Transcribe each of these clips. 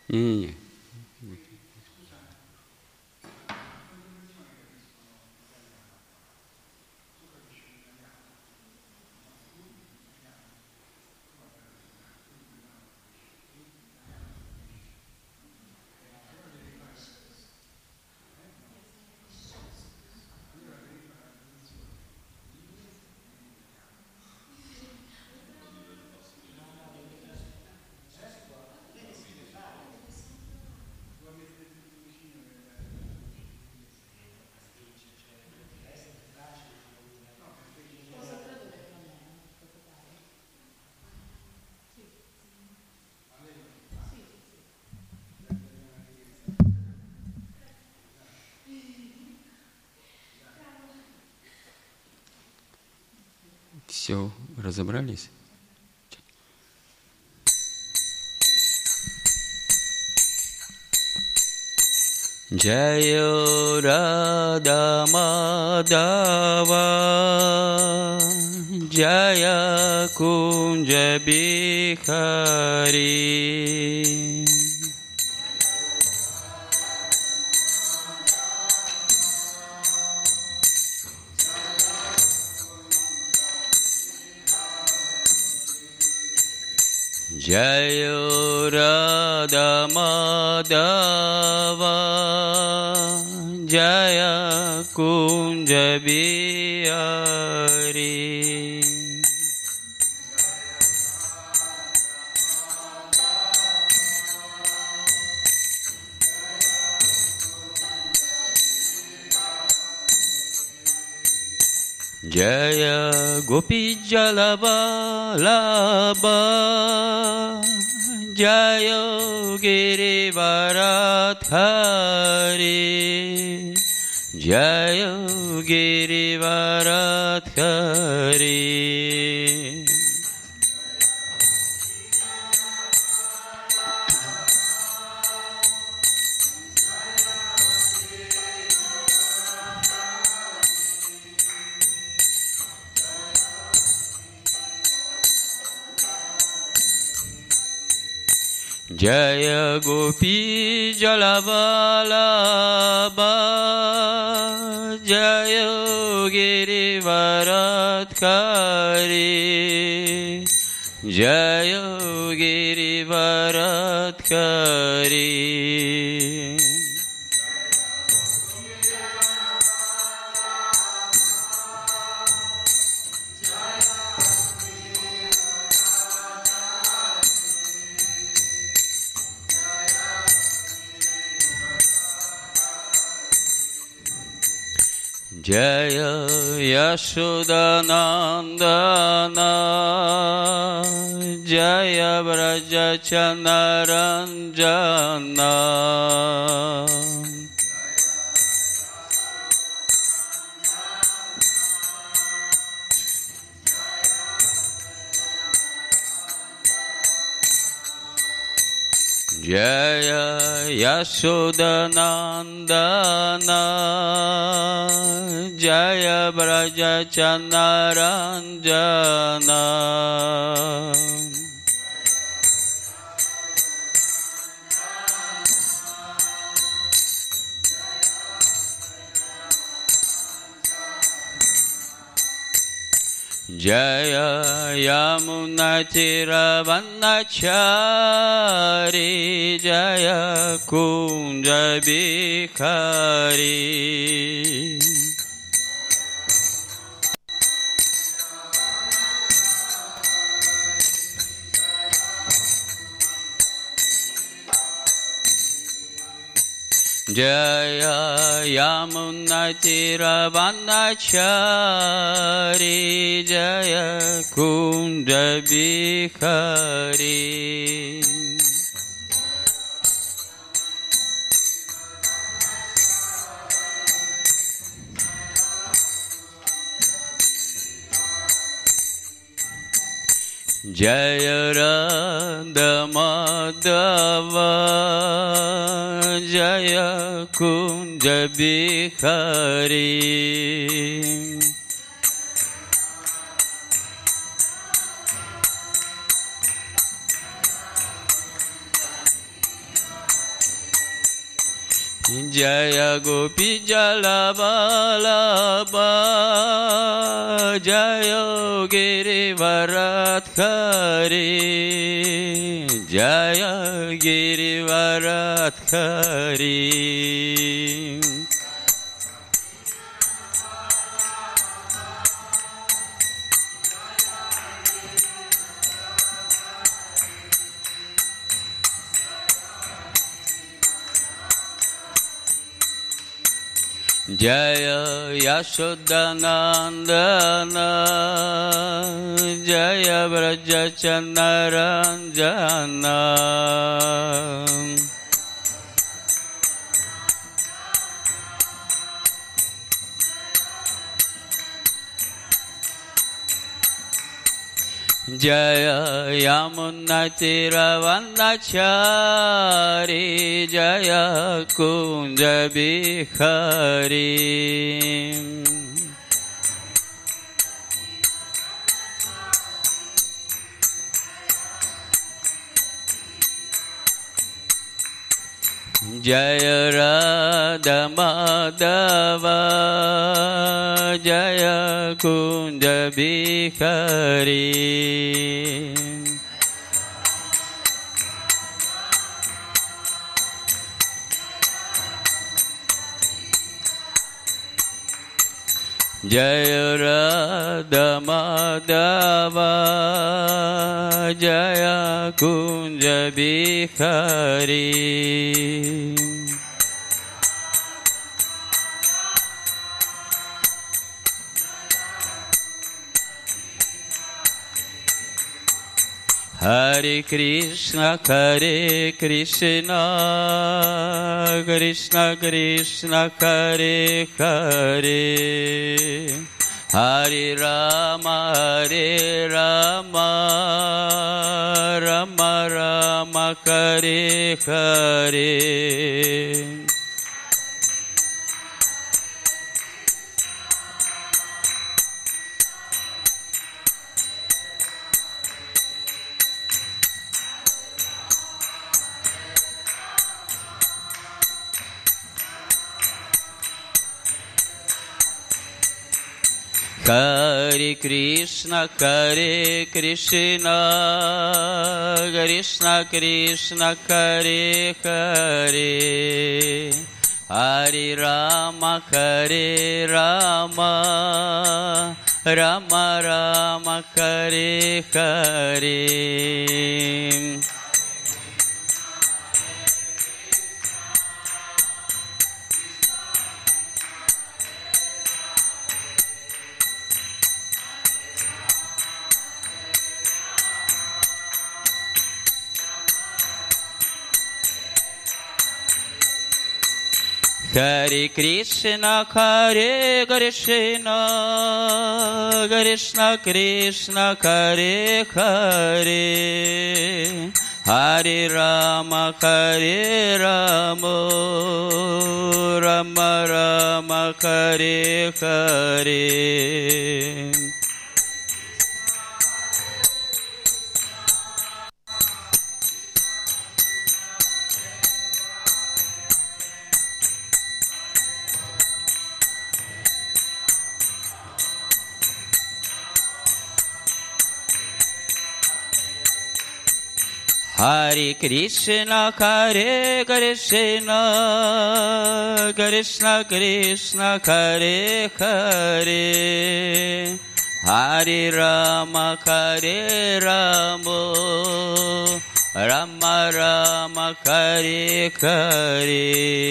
Nie. Все, разобрались? Jaya Radha Madhava Jaya Kunja Bihari Jaya Radha Madhava Jaya Kunja Bihari Jaya Gopi Jalavalabha Jaya Girivaradhari Jaya Girivaradhari Jaya Gopi Jalavalabha Jaya Girivaradhari Jaya Girivaradhari Jaya Yashodanandana Jaya Vrajachanaranjana Jaya Yashodanandana Jaya Vrajachanaranjana Jaya Yamunatiravanachari Jaya Kunja Bihari Jaya Yamunatiravanachari Jaya Kunja Bihari Jaya Radha Madhava Jaya Kunja Bihari Jaya Gopi Jala Vallabha Jaya Girivaradhari Jaya Girivaradhari Jaya Yashodanandana Jaya Vrajachannaranjana Jaya Yamunatiravanachari Jaya Kunja Bihari Jaya Radha Madhava Jaya Kunja Bihari Jaya Radha Madhava Jaya Kunja Bihari Hare Krishna, Hare Krishna, Krishna Krishna, Hare Hare, Hare Rama, Hare Rama, Rama Rama, Hare Hare. Hare Krishna, Hare Krishna, Krishna Krishna, Hare Hare, Hare Rama, Hare Rama, Rama Rama, Hare Hare. Hare Krishna, Hare Krishna, Krishna Krishna, Hare Hare, Hare Rama, Hare Rama, Rama Rama, Hare Hare. Hare Krishna, Hare Krishna, Krishna Krishna, Hare Hare, Hare Rama, Hare Rama, Rama Rama, Hare Hare.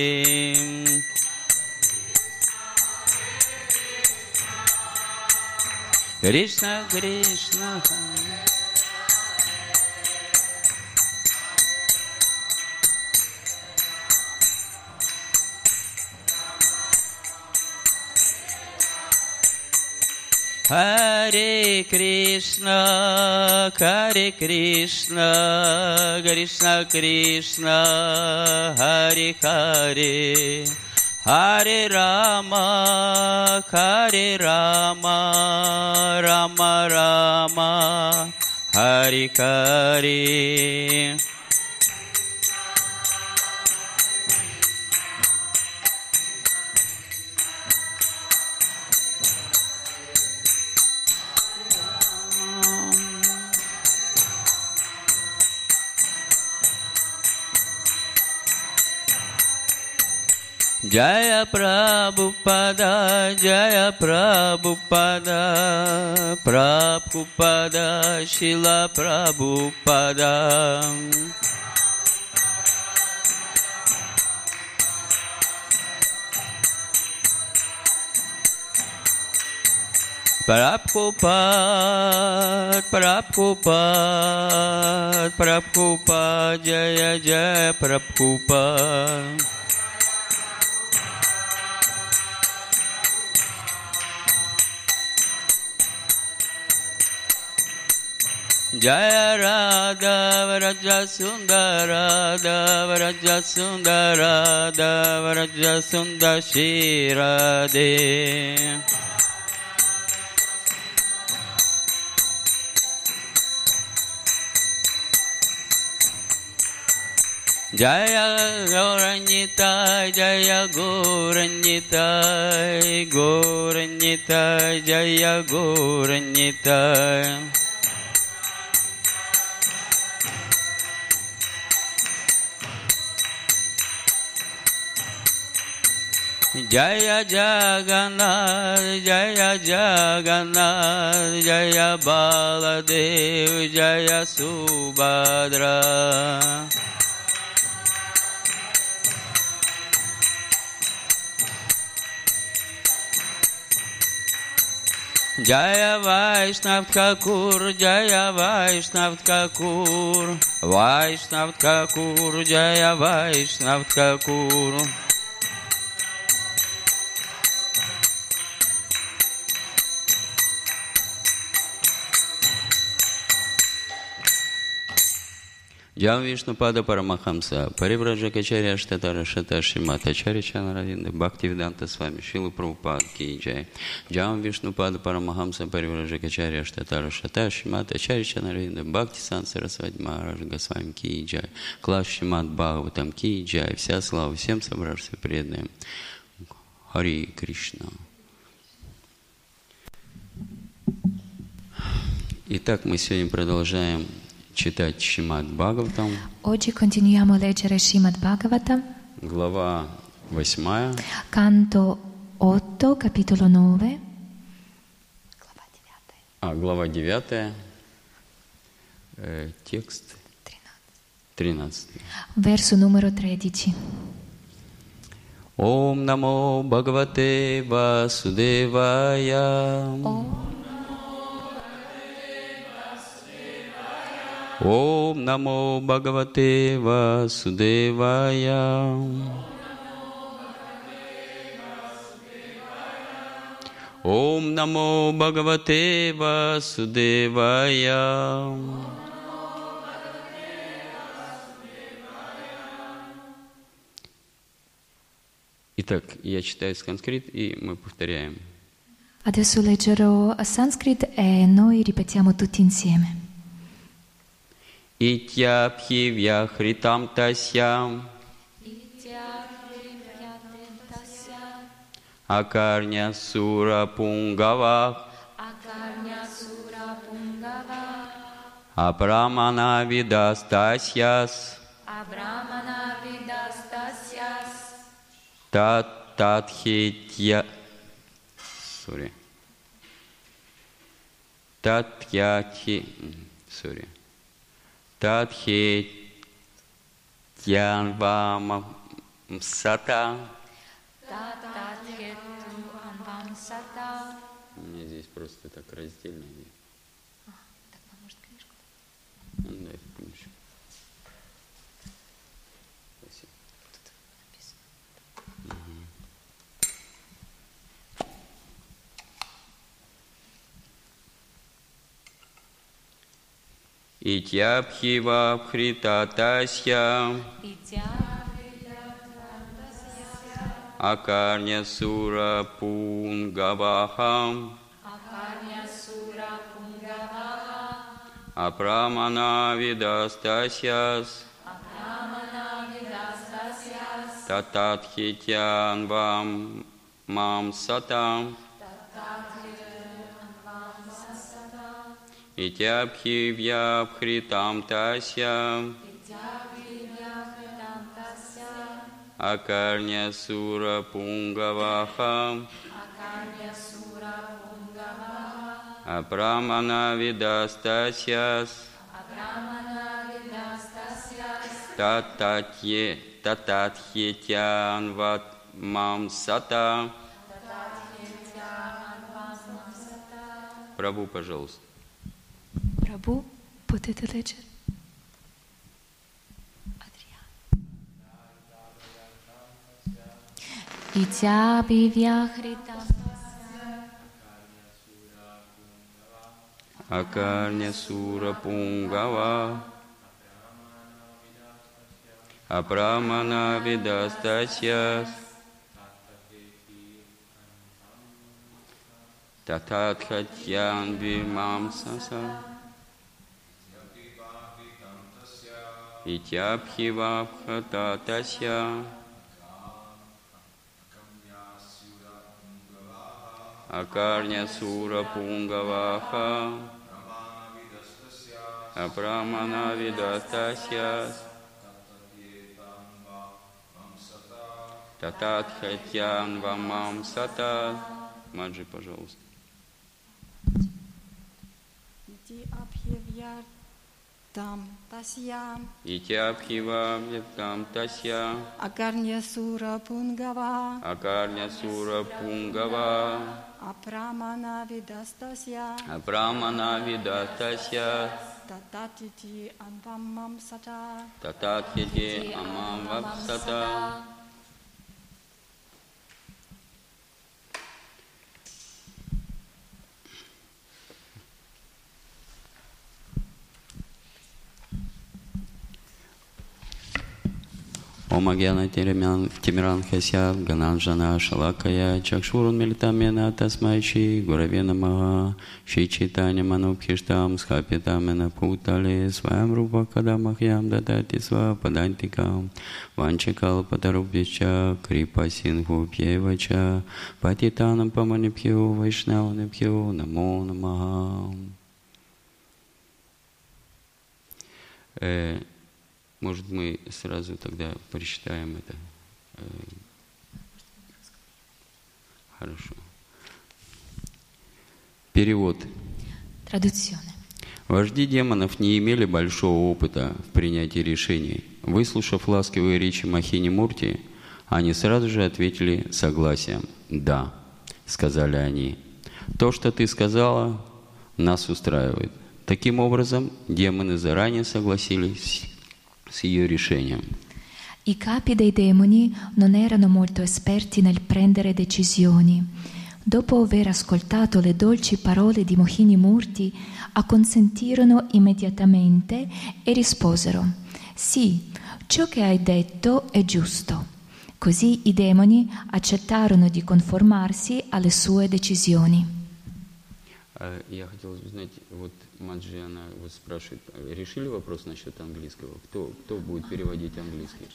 Krishna Krishna, Hare Krishna, Hare Krishna, Krishna Krishna, Hare Hare, Hare Rama, Hare Rama, Rama Rama, Hare Hare. Jaya Prabhupada, Jaya Prabhupada, Prabhupada, Shila Prabhupada. Prabhupada, Prabhupada, Prabhupada, Jaya Jaya Prabhupada. Jaya Radha Vraja Sundara Vraja Sundara Vraja Sundar Shri Radhe. Jaya Gauranitai, Jaya Gauranitai, Gauranitai, Jaya Gauranitai. Jaya Jagannath, Jaya Jagannath, Jaya Baladev, Jaya Subhadra. Jaya Vaishnav Thakur, Jaya Vaishnav Thakur, Vaishnav Thakur, Jaya Vaishnav Thakur. Джам Вишнупада Парамахамса, Парибраджакачарья Штатара Шата Шримата Ачарья Равинда, Бхактивиданта с вами, Шилу Прабхупад Ки Джай. Джам Вишнупада Парамахамса, Парибраджакачарья Штатара Шата Шримата Ачарья Равинда, Бхакти Сан Сарасвати Махарадж Госвами Ки Джай. Класс Шримат Бхагаватам Ки Джай. Вся слава всем собравшимся преданным. Хари Кришна. Итак, мы сегодня продолжаем читать Шримад Бхагаватам. Oggi continuiamo a leggere Srimad Bhagavatam. Глава 8. Canto 8, capitolo 9. Глава 9. Текст 13. Verso numero 13. Om Namo Bhagavate Vasudevaya. Om Namo Bhagavate Vasudevaya. Om Namo Bhagavate Vasudevaya. Итак, я читаю санскрит, и мы повторяем. Adesso leggerò a Sanskrit e noi ripetiamo tutti insieme. Ityabhi vyahritam tasya akarnya sura pungava abramana vidastasyas tathitya Tathetyanvam sata. Мне здесь просто так раздельно. Так, может, книжку? Дай книжку. Спасибо. Тут написано. Ityabhi vabhritatasya akarnya sura pungavaham apramana vidastasyas tathityan vam mam satam. Ityabhi vyabhritam tasya Akarnya Sura Pungavaha Apramana Vidastasyas Tatathyetyan Vatmam Sata. Прабху, пожалуйста. Прабху, potete leggere? Итяпи вяхрита Акарня Сура Пунгава Апрамана Видастасьяс Тататхатьян Вимамсаса Итяпхивабхататася Акарня Сура Пунгаваха Апрамана Видастасьяс Тататхатьян Вамам Сата. Маджи, пожалуйста. Итяпхивабхататася Акарня Сура Пунгава Акарня Сура Пунгава Апрамана Видастасья Тататхити Амвамам Сата Тататхити Амам Вапсата. Омагьяна Тимиранхася Гананджана Шалакая Чакшурун Милитамена Тасмайчи Гураве Намаха Шри Чайтанья Манубхиштам Схапитамена Путале Сваям Рупа Кадамахьям Дадати Сва Падантикам Ванчакалпатарубьяча Крипа Сингху Пьевача Патитанам Паманипхио Вайшнаванипхио Намо Намаха. Может, мы сразу тогда прочитаем это? Хорошо. Перевод. Traduzione. Вожди демонов не имели большого опыта в принятии решений. Выслушав ласковые речи Махини Мурти, они сразу же ответили согласием. «Да», — сказали они. «То, что ты сказала, нас ustраивает». Таким образом, демоны заранее согласились с ее решением. I capi dei demoni non erano molto esperti nel prendere decisioni. Dopo aver ascoltato le dolci parole di Mohini Murti, acconsentirono immediatamente e risposero: «Sì, ciò che hai detto è giusto». Così i demoni accettarono di conformarsi alle sue decisioni. Я хотел узнать, вот Маджи, она вот спрашивает, решили вопрос насчет английского? Кто будет переводить английский?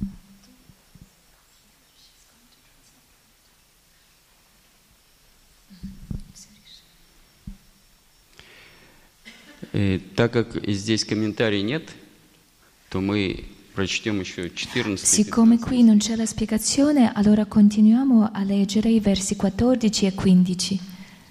Так как здесь комментарий нет, то мы прочтем еще 14. Siccome qui non c'è la spiegazione, allora continuiamo a leggere i versi 14 e 15.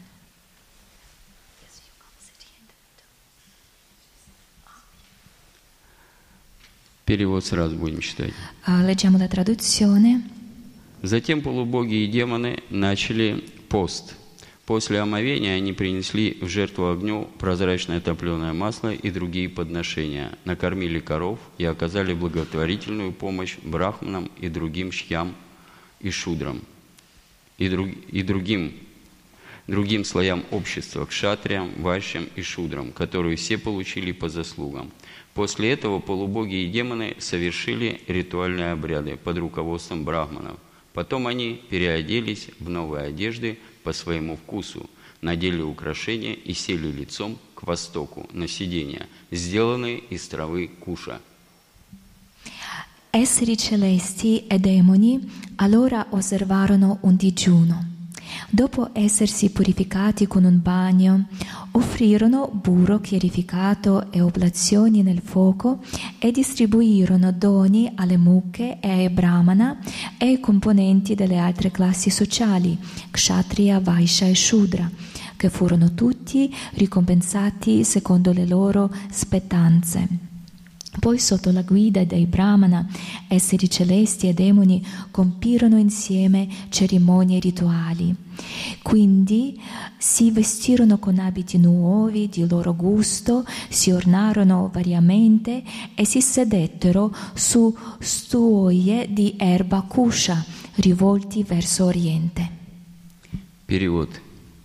Перевод сразу будем читать. Leggiamo la traduzione. Затем полубоги и демоны начали пост. После омовения они принесли в жертву огню прозрачное топленое масло и другие подношения, накормили коров и оказали благотворительную помощь брахманам и другим шьям и шудрам, и другим слоям общества, кшатриям, вайшьям и шудрам, которые все получили по заслугам. После этого полубоги и демоны совершили ритуальные обряды под руководством брахманов. Потом они переоделись в новые одежды по своему вкусу, надели украшения и сели лицом к востоку на сиденья, сделанные из травы куша. Esseri celesti e demoni allora osservarono un digiuno. Dopo essersi purificati con un bagno, offrirono burro chiarificato e oblazioni nel fuoco e distribuirono doni alle mucche e ai brahmana e ai componenti delle altre classi sociali, kshatriya, vaishya e shudra, che furono tutti ricompensati secondo le loro spettanze. Poi, sotto la guida dei brahmana, esseri celesti e demoni compirono insieme cerimonie rituali. Quindi si vestirono con abiti nuovi di loro gusto, si ornarono variamente e si sedettero su stuoie di erba kusha rivolti verso oriente. Перевод.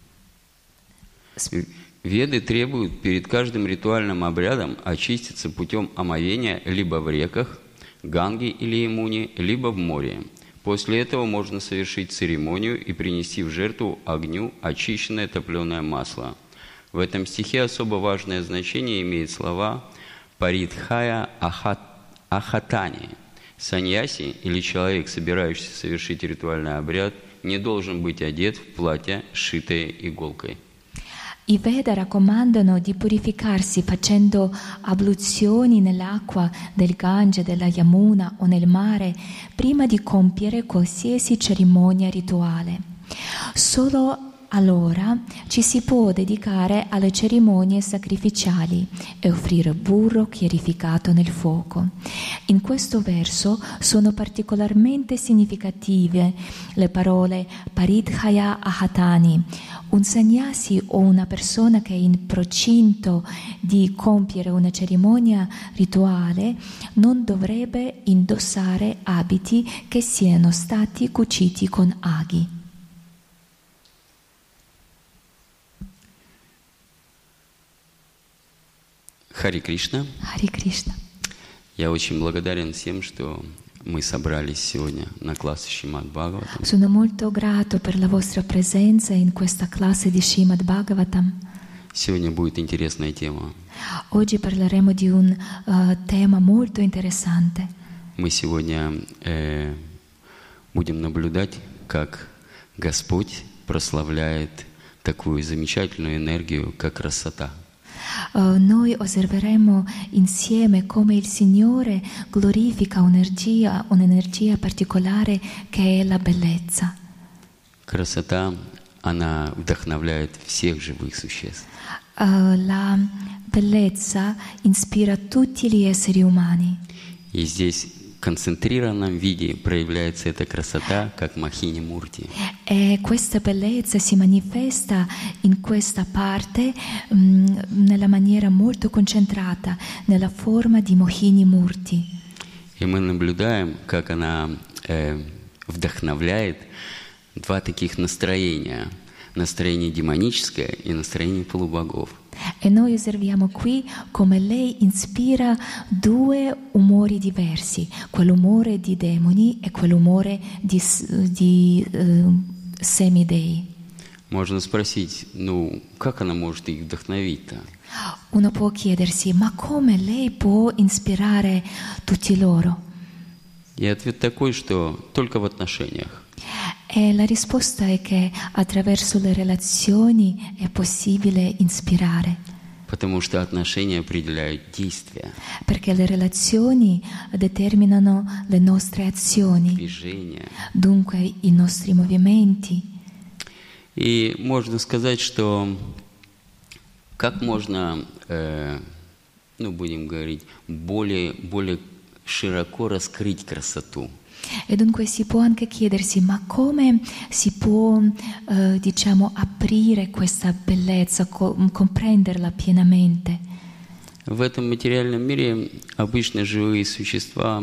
Веды требуют перед каждым ритуальным обрядом очиститься путем омовения либо в реках, Ганге или Ямуне, либо в море. После этого можно совершить церемонию и принести в жертву огню очищенное топленое масло. В этом стихе особо важное значение имеет слова «паридхая ахатани». Саньяси или человек, собирающийся совершить ритуальный обряд, не должен быть одет в платье, сшитое иголкой. I Veda raccomandano di purificarsi facendo abluzioni nell'acqua del Gange, della Yamuna o nel mare prima di compiere qualsiasi cerimonia rituale. Solo allora ci si può dedicare alle cerimonie sacrificiali e offrire burro chiarificato nel fuoco. In questo verso sono particolarmente significative le parole paridhaya ahatani. Un sannyasi o una persona che è in procinto di compiere una cerimonia rituale non dovrebbe indossare abiti che siano stati cuciti con aghi. Хари Кришна. Хари Кришна. Я очень благодарен всем, что мы собрались сегодня на класс Шримад Бхагаватам. Sono molto grato per la vostra presenza in questa classe di Srimad Bhagavatam. Сегодня будет интересная тема. Oggi parleremo di un tema molto interessante. Мы сегодня будем наблюдать, как Господь прославляет такую замечательную энергию, как красота. Noi osserveremo insieme come il Signore glorifica un'energia particolare che è la bellezza. Красота, она вдохновляет всех живых существ. La bellezza ispira tutti gli esseri umani. И здесь в концентрированном виде проявляется эта красота, как Махини Мурти. E questa bellezza si manifesta in questa parte nella maniera molto concentrata, nella forma di Mohini Murti. И мы наблюдаем, как она вдохновляет два таких настроения. Настроение демоническое и настроение полубогов. E noi osserviamo qui come lei ispira due umori diversi, quell'umore di demoni e quell'umore di semidei. Можно спросить, как она может их вдохновить-то? Uno può chiedersi, ma come lei può ispirare tutti loro? И ответ такой, что только в отношениях. E la risposta è che attraverso le relazioni è possibile ispirare. Потому что отношения определяют действия. Perché le relazioni determinano le nostre azioni, Движения. dunque i nostri movimenti. И можно сказать, что как можно, будем говорить, более широко раскрыть красоту. E dunque si può anche chiedersi, ma come si può, aprire questa bellezza, comprenderla pienamente? В этом материальном мире обычно живые существа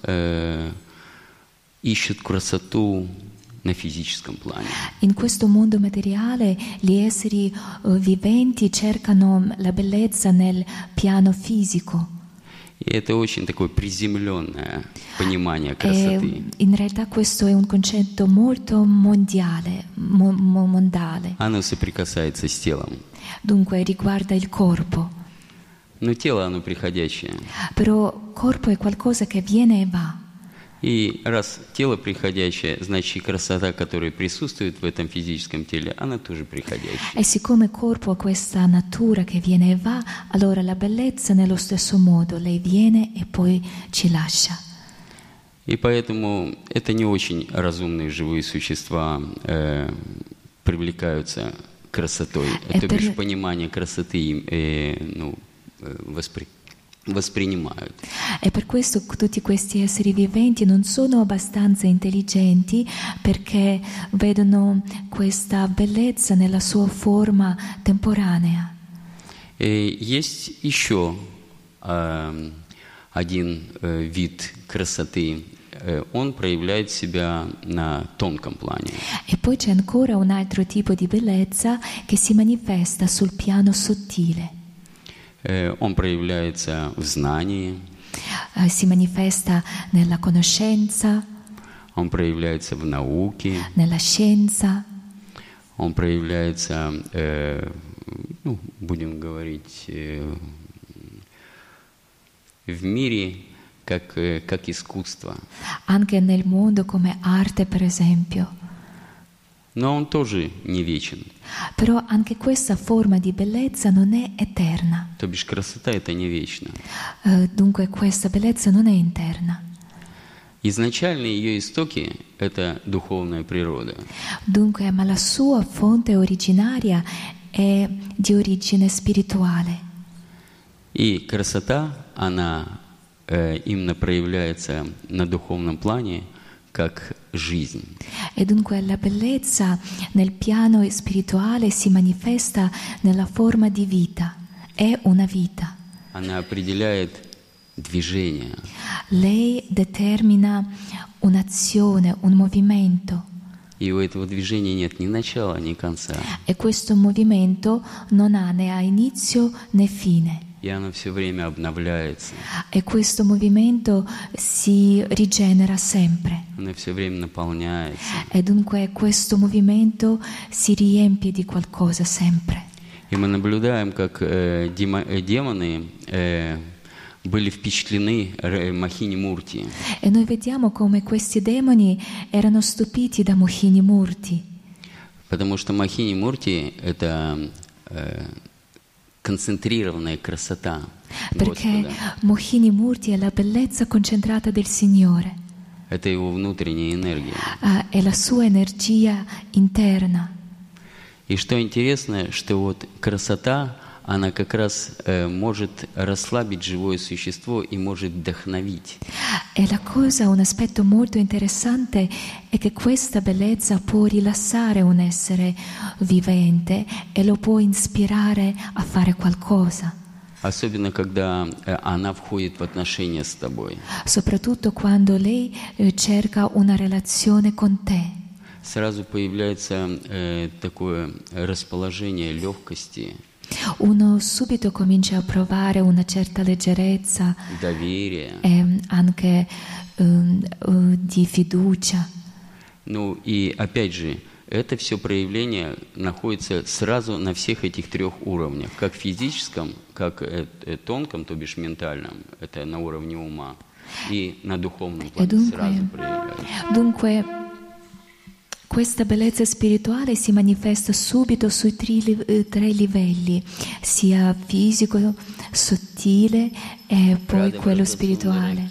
ищут красоту на физическом плане. In questo mondo materiale gli esseri viventi cercano la bellezza nel piano fisico. И это очень такое приземленное понимание красоты. In realtà questo è un concetto molto mondiale, mondale. Оно соприкасается с телом. Dunque riguarda il corpo. Но тело, оно приходящее. Però corpo è qualcosa che viene e va. И раз тело приходящее, значит и красота, которая присутствует в этом физическом теле, она тоже приходящая. E siccome il corpo ha questa natura che viene e va, allora la bellezza nello stesso modo, lei viene e poi ci lascia. И поэтому это не очень разумные живые существа привлекаются красотой. То бишь понимание красоты воспринимают. E per questo tutti questi esseri viventi non sono abbastanza intelligenti perché vedono questa bellezza nella sua forma temporanea. И есть еще один вид красоты. Он проявляет себя на тонком плане. E poi c'è ancora un altro tipo di bellezza che si manifesta sul piano sottile. Он проявляется в знании. Si manifesta nella conoscenza. Он проявляется в науке. Nella scienza. Он проявляется, будем говорить, в мире как искусство. Anche nel mondo come arte, per esempio. Но он тоже не вечен. Però anche questa forma di bellezza non è eterna. То бишь красота это не вечно. Dunque questa bellezza non è interna. Изначально ее истоки это духовная природа. Dunque, ma la sua fonte originaria è di origine spirituale. И красота, она именно проявляется на духовном плане как жизнь. E dunque la bellezza nel piano spirituale si manifesta nella forma di vita, è una vita. Она определяет движение. Lei determina un'azione, un movimento. И у этого движения нет ни начала, ни конца. E questo movimento non ha né inizio né fine. И оно все время обновляется. E questo movimento si rigenera sempre. Оно все время наполняется. E dunque questo movimento si riempie di qualcosa sempre. И мы наблюдаем, как демоны были впечатлены Махини Мурти. E noi vediamo come questi demoni erano stupiti da Mohini Murti. Потому что Махини Мурти — это концентрированная красота Perché Господа. Mohini Murti è la bellezza concentrata del Signore. Это его внутренняя энергия. È la sua energia interna. И что интересно, что вот красота, она как раз может расслабить живое существо и может вдохновить. E la cosa, un aspetto molto interessante è che questa bellezza può rilassare un essere vivente e lo può ispirare a fare qualcosa. Особенно, когда она входит в отношения с тобой. Soprattutto quando lei cerca una relazione con te. Сразу появляется такое расположение легкости, Uno subito comincia a provare una certa leggerezza доверия. e anche di fiducia. Ну и опять же, это все проявление находится сразу на всех этих трех уровнях. Как физическом, как тонком, то бишь ментальном, это на уровне ума, и на духовном плане сразу проявляется. Dunque, questa bellezza spirituale si manifesta subito sui tre livelli, sia fisico, sottile e poi quello spirituale.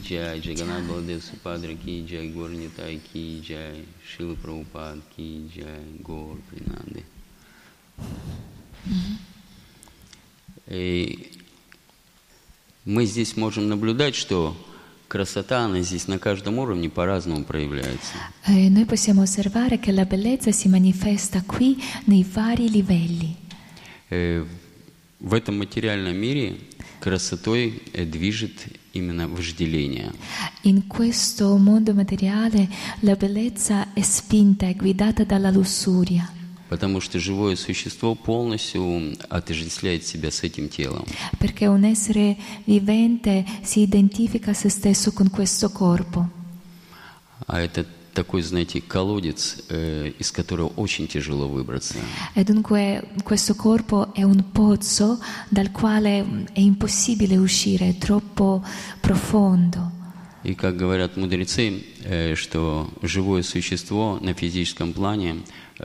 И мы здесь можем наблюдать, что красота, она здесь на каждом уровне по-разному проявляется. Noi possiamo osservare che la bellezza si manifesta qui nei vari livelli. В этом материальном мире красотой движет именно вожделение. In questo mondo materiale la bellezza è spinta, è guidata dalla lussuria. Потому что живое существо полностью отождествляет себя с этим телом. Perché un essere vivente si identifica a se stesso con questo corpo. А это такой, знаете, колодец, из которого очень тяжело выбраться. E dunque questo corpo è un pozzo dal quale è impossibile uscire, è troppo profondo. И как говорят мудрецы, что живое существо на физическом плане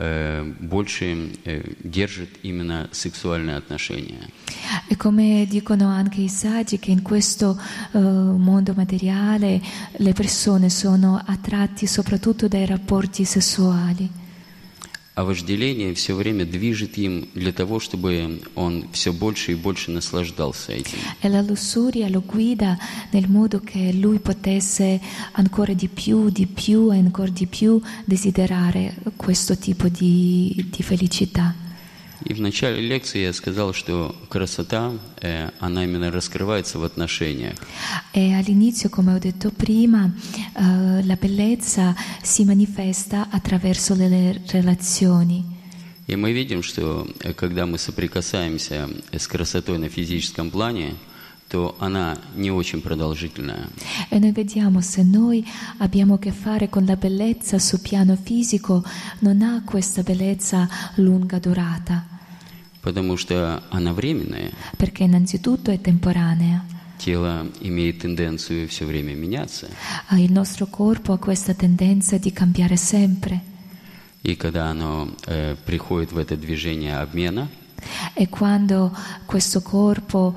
больше держит именно sessuальные отношения. E come dicono anche i saggi che in questo mondo materiale le persone sono attratti soprattutto dai rapporti sessuali. А вожделение все время движет им для того, чтобы он все больше и больше наслаждался этим. E la lussuria lo guida nel modo che lui potesse ancora di più e ancora di più desiderare questo tipo di felicità. И в начале лекции я сказал, что красота, она именно раскрывается в отношениях. E all'inizio, come ho detto prima, la bellezza si manifesta attraverso le relazioni. И мы видим, что когда мы соприкасаемся с красотой на физическом плане, то она не очень продолжительная. E noi vediamo, se noi abbiamo a che fare con la bellezza sul piano fisico, non ha questa bellezza lunga durata. Потому что она временная. Perché innanzitutto è temporanea. Тело имеет тенденцию все время меняться. Il nostro corpo ha questa tendenza di cambiare sempre. И когда оно приходит в это движение обмена, E quando questo corpo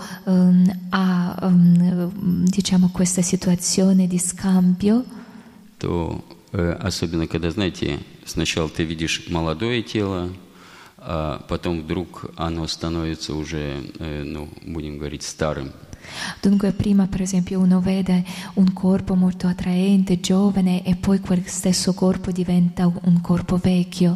ha diciamo questa situazione di scambio, то особенно когда, знаете, сначала ты видишь молодое тело, а потом вдруг оно становится уже, ну, будем говорить, старым. Dunque prima per esempio uno vede un corpo molto attraente, giovane, e poi quel stesso corpo diventa un corpo vecchio.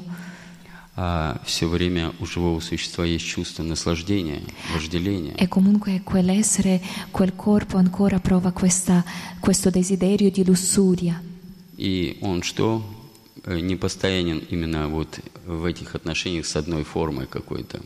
А все время у живого существа есть чувство наслаждения, вожделения. E comunque quell'essere, quel corpo ancora prova questo desiderio di lussuria. И он что? Не постоянен именно вот в этих отношениях с одной формой какой-то.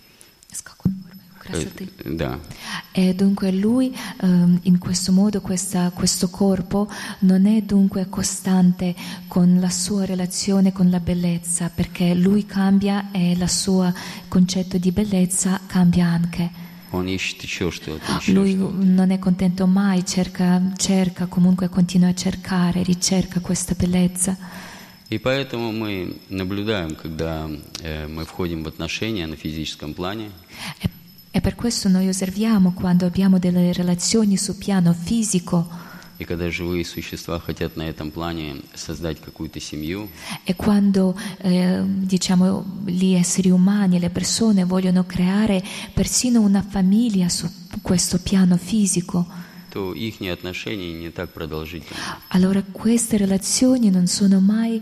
Да. E dunque lui in questo modo questo corpo non è dunque costante con la sua relazione con la bellezza, perché lui cambia e il suo concetto di bellezza cambia anche. Он ищет еще что-то. Lui non è contento mai, cerca comunque, continua a cercare, ricerca questa bellezza. И поэтому мы наблюдаем, когда мы входим в отношения на физическом плане. E per questo noi osserviamo quando abbiamo delle relazioni sul piano fisico. И когда живые существа хотят на этом плане создать какую-то семью. E quando diciamo gli esseri umani, le persone vogliono creare persino una famiglia su questo piano fisico, то их отношения не так продолжительны. Allora queste relazioni non sono mai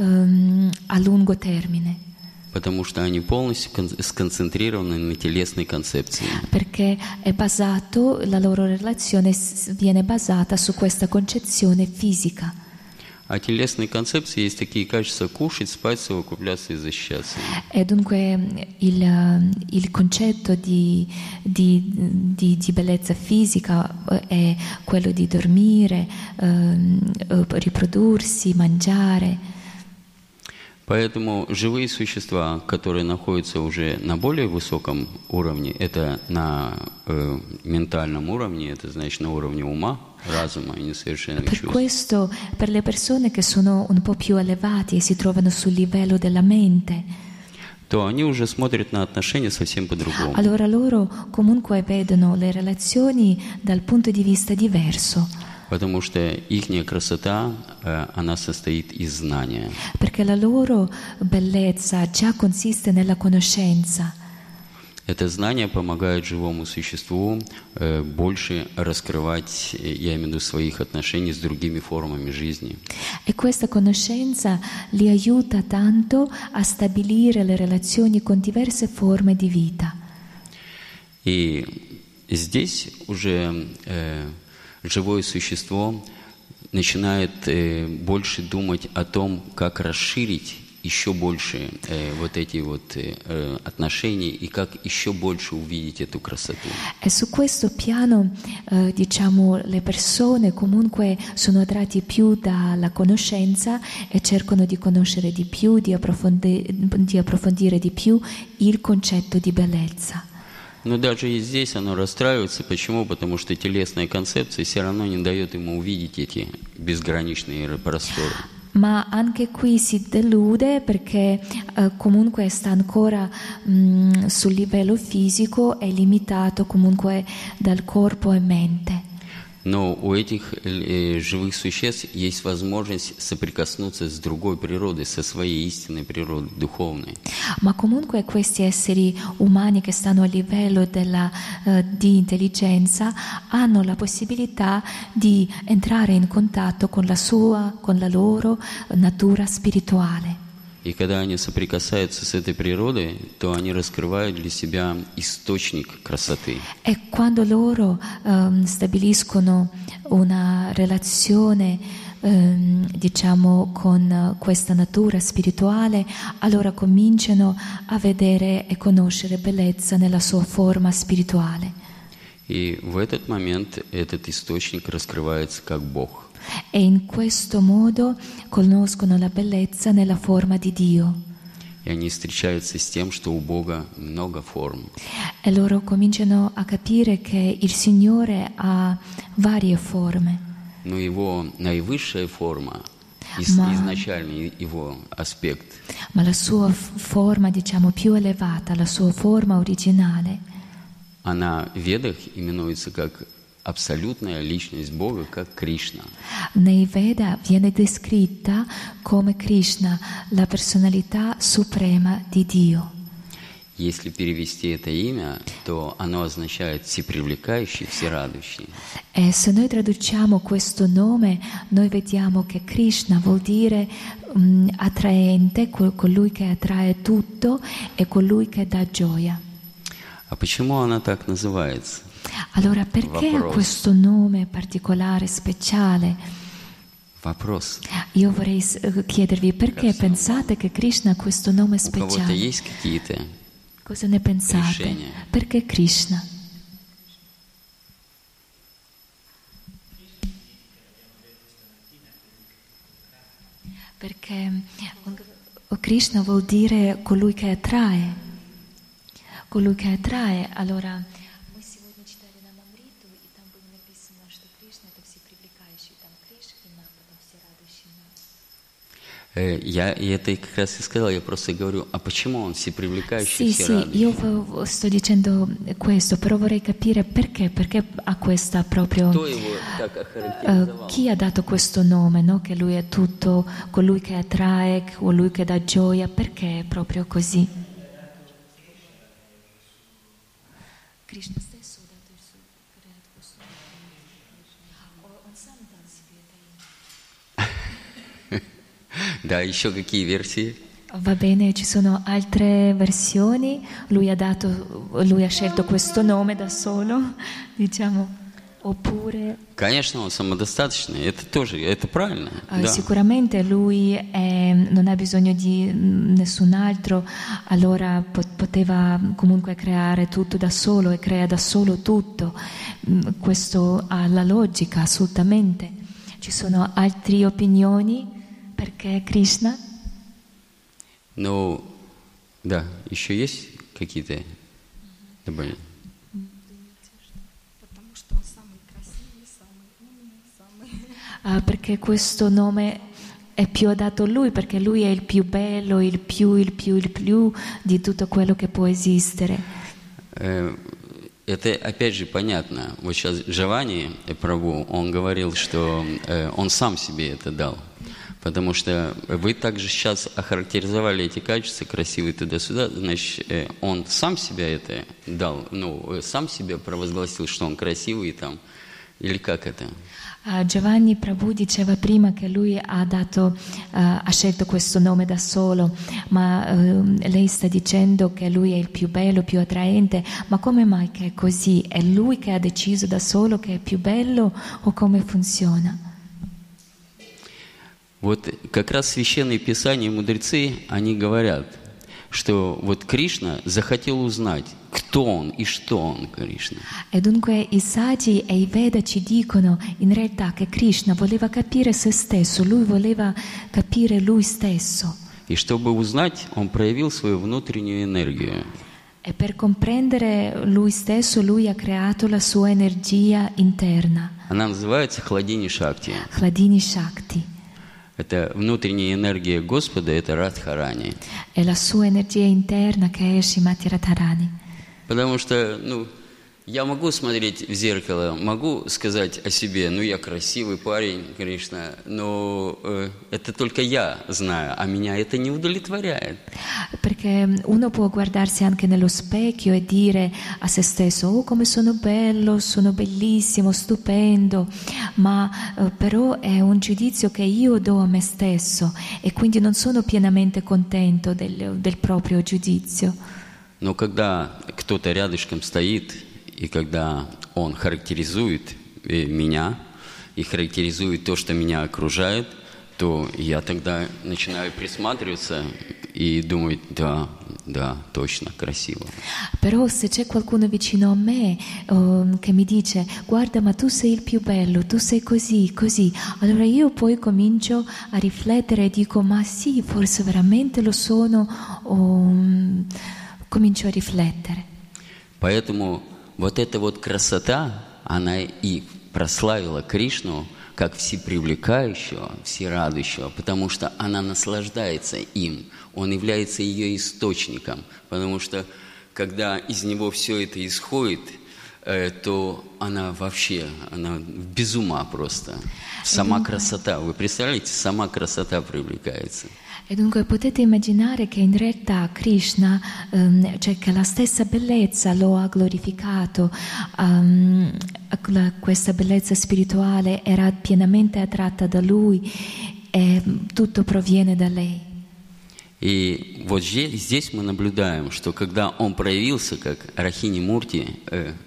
a lungo termine. Потому что они полностью сконцентрированы на телесной концепции. Perché è basato, la loro relazione viene basata su questa concezione fisica. А телесные концепции есть такие качества: кушать, спать, совокупляться и защищаться. E dunque il concetto di bellezza fisica è quello di dormire, riprodursi, mangiare. Поэтому живые существа, которые находятся уже на более высоком уровне, это на ментальном уровне, это значит на уровне ума, разума и несовершенных чувств. Per questo, per le persone che sono un po' più elevati e si trovano sul livello della mente, то они уже смотрят на отношения совсем по-другому. Allora loro comunque vedono le relazioni dal punto di vista diverso. Потому что ихняя красота, она состоит из знания. Perché la loro bellezza già consiste nella conoscenza. Это знание помогает живому существу больше раскрывать, я имею в виду, своих отношений с другими формами жизни. E questa conoscenza li aiuta tanto a stabilire le relazioni con diverse forme di vita. И здесь уже живое существо начинает больше думать о том, как расширить еще больше вот эти вот отношения и как еще больше увидеть эту красоту. E su questo piano, diciamo, le persone comunque sono attratti più dalla conoscenza e cercano di conoscere di più, di approfondire di più il concetto di bellezza. Но даже и здесь оно расстраивается. Почему? Потому что телесная концепция все равно не дает ему увидеть эти безграничные просторы. Ma anche qui si delude perché comunque sta ancora sul livello fisico, è limitato comunque dal corpo e mente. Но у этих живых существ есть возможность соприкоснуться с другой природой, со своей истинной природой, духовной. Ma comunque questi esseri umani che stanno a livello di intelligenza hanno la possibilità di entrare in contatto con la loro natura spirituale. И когда они соприкасаются с этой природой, то они раскрывают для себя источник красоты. E quando loro stabiliscono una relazione, diciamo, con questa natura spirituale, allora cominciano a vedere e conoscere bellezza nella sua forma spirituale. И в этот момент этот источник раскрывается как Бог. E in questo modo conoscono la bellezza nella forma di Dio. И они встречаются с тем, что у Бога много форм. E loro cominciano a capire che il Signore ha varie forme. Но его наивысшая форма, изначальный его аспект, Ma la sua forma, diciamo, più elevata, la sua forma originale, она в Ведах именуется как абсолютная личность Бога, как Кришна. nei Veda viene descritta come Krishna, la personalità suprema di Dio. Если перевести это имя, то оно означает всепривлекающий, всерадующий. E se noi traduciamo questo nome, noi vediamo che Krishna vuol dire attraente, colui che attrae tutto e colui che dà gioia. А почему она так называется? Allora perché questo nome particolare, speciale? Вопрос. Io vorrei chiedervi perché pensate che Krishna ha questo nome У кого-то speciale? есть какие-то? Cosa ne pensate? Решение. Perché Krishna? Perché Krishna vuol dire colui che attrae. Colui che attrae, allora мы сегодня читали на Амриту, и там было написано, что Кришна это всепривлекающий, там Кришна, потом всерадующий нас. Я это как раз и сказал, я просто говорю, а почему он всепривлекающий, Sì, всерадующий? io sto dicendo questo, però vorrei capire perché ha questa proprio... Кто его так охарактеризовал? chi ha dato questo nome, no? Che lui è tutto, colui che attrae, colui che dà gioia, perché è proprio così? Krishna stesso ha dato il suo, creato questo nome. Он сам дал себе это имя. Да, еще какие версии? Va bene, ci sono altre versioni, lui ha scelto questo nome da solo, diciamo, oppure... Конечно, он самодостаточный, это тоже, это правильно. Да. Sicuramente lui non ha bisogno di nessun altro, allora poteva comunque creare tutto da solo e crea da solo tutto. Questo ha la logica, assolutamente. Ci sono altre opinioni perché Krishna? Ну, да, еще есть какие-то добавления? Потому что он самый красивый, самый умный, самый... Perché questo nome è più adatto a lui, perché lui è il più bello, il più di tutto quello che può esistere. Это опять же понятно. Вот сейчас Джавани Прабху, он говорил, что он сам себе это дал. Потому что вы также сейчас охарактеризовали эти качества, красивые туда-сюда, значит, он сам себя это дал, ну, сам себя провозгласил, что он красивый там, или как это? Giovanni Prabhu diceva prima che lui ha scelto questo nome da solo, ma lei sta dicendo che lui è il più bello, più attraente, ma come mai che è così? È lui che ha deciso da solo che è più bello o come funziona? Вот как раз священные писания и мудрецы, они говорят, что вот Кришна захотел узнать, кто он и что он, Кришна. E dunque i saggi e i Veda ci dicono in realtà che Krishna voleva capire se stesso, lui voleva capire lui stesso. И чтобы узнать, он проявил свою внутреннюю энергию. E per comprendere lui stesso, lui ha creato la sua energia interna, Она называется Хладини Шакти. Hladini Shakti. Это внутренняя энергия Господа, это Радхарани. È la sua energia interna che è Srimati Radharani. Потому что, я могу смотреть в зеркало, могу сказать о себе, я красивый парень, Кришна, но это только я знаю, а меня это не удовлетворяет. Perché uno può guardarsi anche nello specchio e dire a se stesso: oh, come sono bello, sono bellissimo, stupendo, ma però è un giudizio che io do a me stesso e quindi non sono pienamente contento del proprio giudizio. Но когда кто-то рядышком стоит, и когда он характеризует меня и характеризует то, что меня окружает, то я тогда начинаю присматриваться и думать, да, точно, красиvo. Però se c'è qualcuno vicino a me che mi dice: guarda, ma tu sei il più bello, tu sei così, così, allora io poi comincio a riflettere e dico: ma sì, forse veramente lo sono, comincio a riflettere. Поэтому вот эта вот красота, она и прославила Кришну как всепривлекающего, всерадующего, потому что она наслаждается им, он является ее источником, потому что когда из него все это исходит, то она вообще, она без ума просто. Сама красота, вы представляете, сама красота привлекается. E dunque potete immaginare che in realtà Krishna, cioè che la stessa bellezza lo ha glorificato, questa bellezza spirituale era pienamente attratta da lui e tutto проviene da lei. И вот здесь мы наблюдаем, что когда он проявился как Рахини Мурти,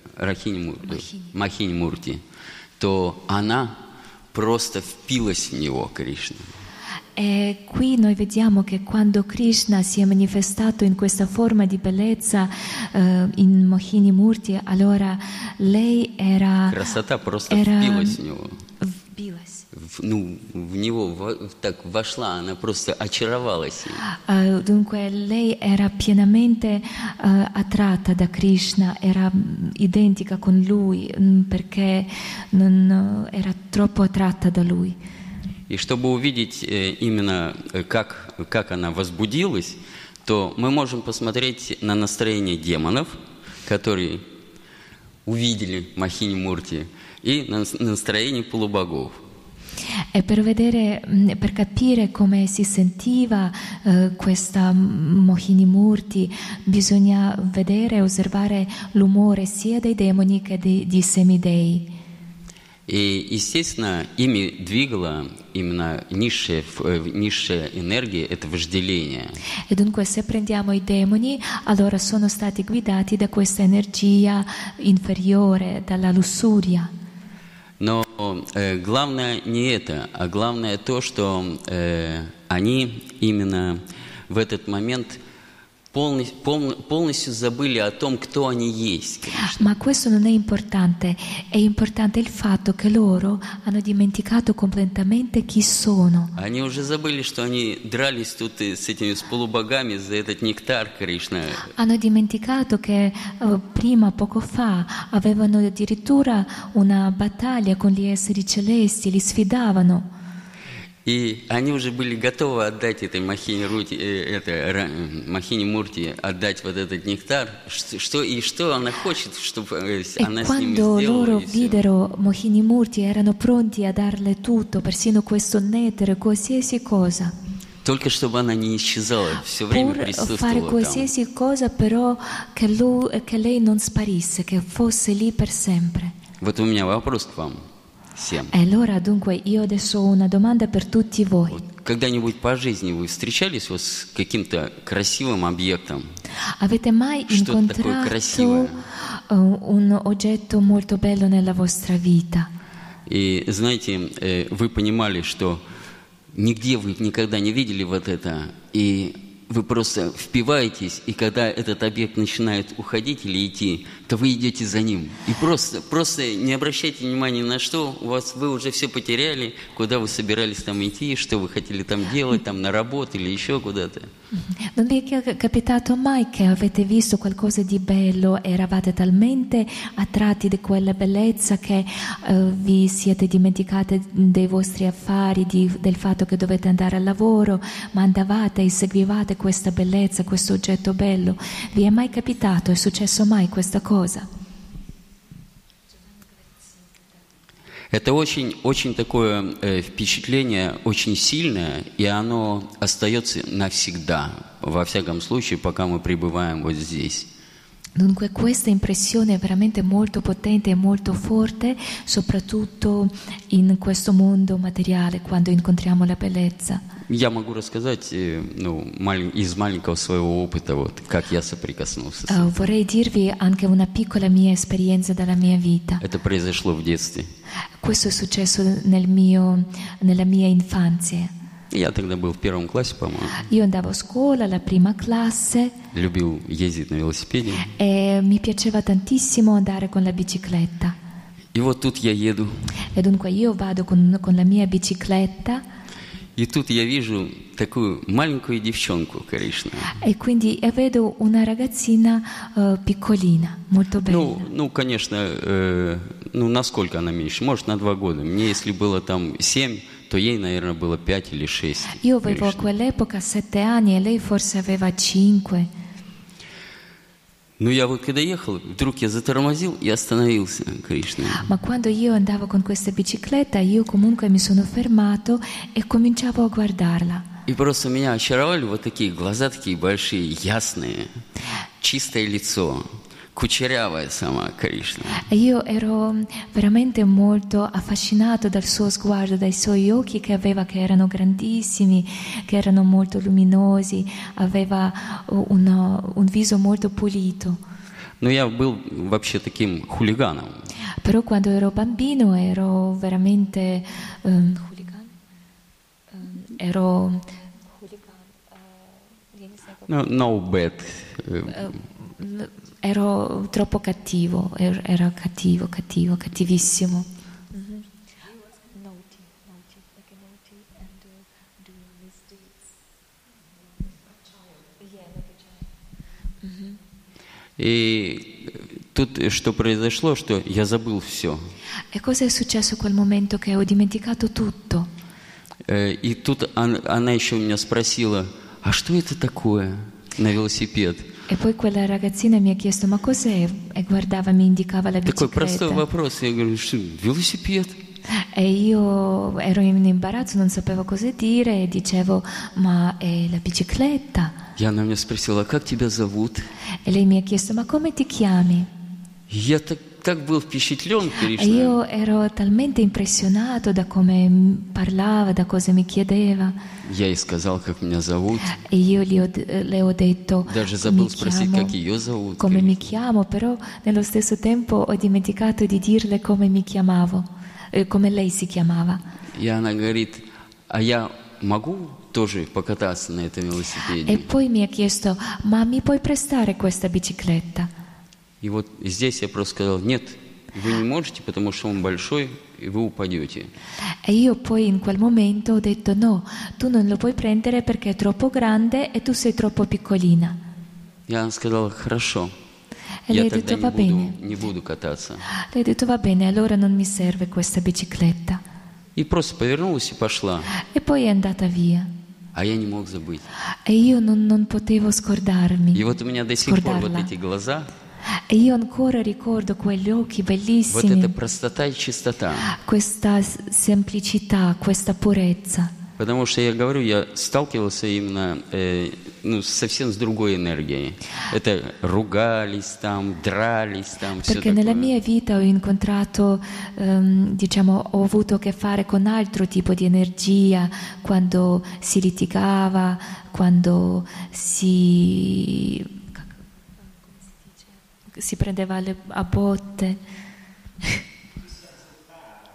Махини Мурти, то она просто впилась в него, Кришна. E qui noi vediamo che quando Krishna si è manifestato in questa forma di bellezza in Mohini Murti, allora lei era... Красота просто впилась в него. Вбилась. В него так вошла, она просто очаровалась им. Dunque lei era pienamente attratta da Krishna, era identica con lui perché era troppo attratta da lui. И чтобы увидеть именно, как она возбудилась, то мы можем посмотреть на настроение демонов, которые увидели Махини Мурти, и на настроение полубогов. E per capire come si sentiva questa Mohini Murti, bisogna vedere e osservare l'umore sia dei demoni che di semidei. И, естественно, ими двигала именно низшая энергия, это вожделение. E dunque se prendiamo i demoni, allora sono stati guidati da questa energia inferiore, dalla lussuria. Но главное не это, а главное то, что они именно в этот момент полностью забыли о том, кто они есть. Ma questo non è importante il fatto che loro hanno dimenticato completamente chi sono. Они уже забыли, что они дрались тут с полубогами за этот нектар, Кришна. Hanno dimenticato che prima, поco fa, avevano addirittura una battaglia con gli esseri celesti, li sfidavano. И они уже были готовы отдать этой Махини Мурти, отдать вот этот нектар. Что она хочет, чтобы она с ними сделала. E quando loro videro Mohini Murti erano pronti a darle tutto, persino questo nettare, qualsiasi cosa. Только чтобы она не исчезала, все время присутствовала fare qualsiasi cosa, però che lei non sparisse, che fosse lì per sempre. Вот у меня вопрос к вам. E allora dunque io adesso ho una domanda per tutti voi. Когда-нибудь по жизни вы встречались вот с каким-то красивым объектом? Avete mai incontrato un oggetto molto bello nella vostra vita? И знаете, вы понимали, что нигде вы никогда не видели вот это, и вы просто впиваетесь, и когда этот объект начинает уходить или идти, то вы идете за ним. И просто не обращайте внимания ни на что, вы уже все потеряли, куда вы собирались там идти, что вы хотели там делать, там на работу или еще куда-то. Non vi è capitato mai che avete visto qualcosa di bello e eravate talmente attratti da quella bellezza che vi siete dimenticati dei vostri affari, del fatto che dovete andare al lavoro, ma andavate e seguivate questa bellezza, questo oggetto bello? Vi è mai capitato? È successo mai questa cosa? Это очень такое впечатление, очень сильное, и оно остается навсегда, во всяком случае, пока мы пребываем вот здесь. Dunque questa impressione è veramente molto potente e molto forte, soprattutto in questo mondo materiale, quando incontriamo la bellezza. Я могу рассказать из маленького своего опыта, вот, как я соприкоснулся с этим. Vorrei dirvi anche una piccola mia esperienza dalla mia vita. Это произошло в детстве. Questo è successo nella mia infanzia. Я тогда был в 1 классе, по-моему. Io andavo a scuola, alla prima classe, Любил ездить на велосипеде. e mi piaceva tantissimo andare con la bicicletta. И вот тут я еду. E dunque io vado con la mia bicicletta. И тут я вижу такую маленькую девчонку коричневую. E quindi vedo una ragazzina piccolina, molto bella. Ну, конечно, насколько она меньше? Может, на 2 года. Мне, если было там 7, то ей, наверное, было 5 или 6. Io avevo a quell'epoca 7 anni e lei forse aveva 5. Ну, я вот когда ехал, вдруг я затормозил и остановился, Кришна. Ma quando io andavo con questa bicicletta, io comunque mi sono fermato e cominciavo a guardarla. И просто меня очаровали вот такие глаза, такие большие, ясные, чистое лицо, кучерявая сама Кришна. E io ero veramente molto affascinato dal suo sguardo, dai suoi occhi che aveva, che erano grandissimi, che erano molto luminosi, aveva un viso molto pulito. Но я был вообще таким хулиганом. Però quando ero bambino ero veramente No bad. ero troppo cattivo, era cattivissimo. И тут что произошло, что я забыл все. E cosa è successo in quel momento che ho dimenticato tutto? И тут она еще меня спросила, а что это такое на велосипед? E poi quella ragazzina mi ha chiesto, ma cos'è? E guardava, mi indicava la Такой простой bicicletta. вопрос. Я говорю, что велосипед? E io ero in imbarazzo, non sapevo cosa dire e dicevo, ma è la bicicletta? И она меня sпросила, как тебя зовут? E lei mi ha chiesto, ma come ti chiami? Я так был впечатлен, E Кришна. io ero talmente impressionato da come parlava, da cosa mi chiedeva. Я ей сказал, как меня зовут. E io le ho detto Даже mi забыл спросить, chiamo, как ее зовут. come mi chiamo, però nello stesso tempo ho dimenticato di dirle come mi chiamavo, come lei si chiamava. И она говорит, а я могу тоже покататься на этом E велосипеде? poi mi ha chiesto, ma mi puoi prestare questa bicicletta? И вот здесь я просто сказал, нет, вы не можете, потому что он большой, и вы упадете. E io poi in quel momento ho detto no, tu non lo puoi prendere perché è troppo grande e tu sei troppo piccolina. И она сказала, хорошо, E я lei ha тогда detto va bene. не буду кататься. Lei ha detto va bene, allora non mi serve questa bicicletta. И просто повернулась и пошла. E poi è andata via. А я не мог забыть. E io non potevo scordarmi. И вот у меня до сих пор вот Scordarla. эти глаза, E io ancora ricordo quegli occhi вот эта bellissimi, простота и чистота. questa semplicità, questa purezza. Потому что, я говорю, я сталкивался именно совсем с другой энергией. Это ругались там, дрались там, все Perché nella такое. mia vita ho incontrato, diciamo, ho avuto a che fare con altro tipo di energia, quando si litigava, quando si prendeva a botte.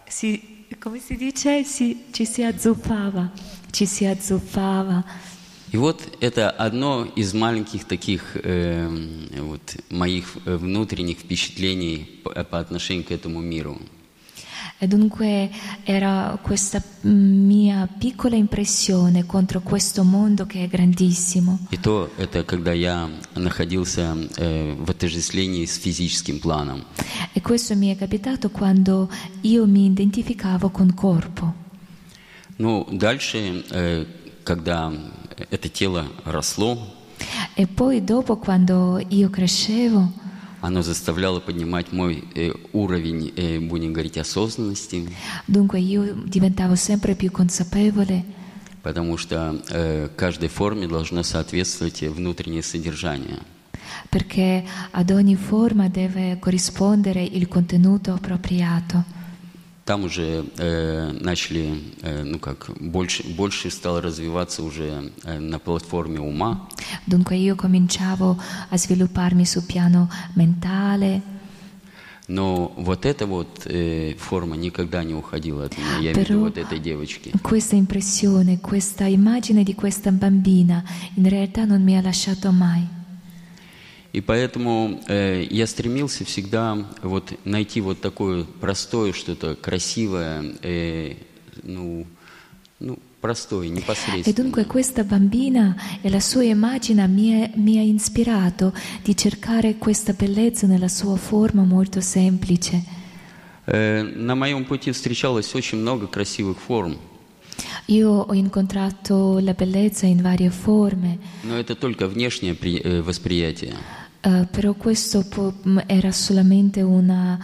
Come si dice? Ci si azzuffava. И вот это одно из маленьких таких вот моих внутренних впечатлений по отношению к этому миру. E dunque era questa mia piccola impressione contro questo mondo che è grandissimo. И то это когда я находился в отождествлении с физическим планом. E questo mi è capitato quando io mi identificavo con corpo. Ну, дальше, когда это тело росло, E poi dopo, quando io crescevo, оно заставляло поднимать мой уровень, будем говорить, осознанности, dunque io diventavo sempre più consapevole, потому что каждой форме должно соответствовать внутреннее содержание. perché ad ogni forma deve corrispondere il contenuto appropriato. Там уже начали, ну как, больше стало развиваться уже на платформе ума. Dunque io cominciavo a svilupparmi sul piano mentale, Но вот эта вот форма никогда не уходила от меня, я имею в виду però вот этой девочки. questa impressione, questa immagine di questa bambina in realtà non mi ha lasciato mai. И поэтому я стремился всегда вот найти вот такое простое, что-то красивое, ну, простое, E непосредственное. dunque questa bambina e la sua immagine mi ha ispirato di cercare questa bellezza nella sua forma molto semplice. На моем пути встречалось очень много красивых форм, Io ho incontrato la bellezza in varie forme, но это только внешнее восприятие. però questo era solamente un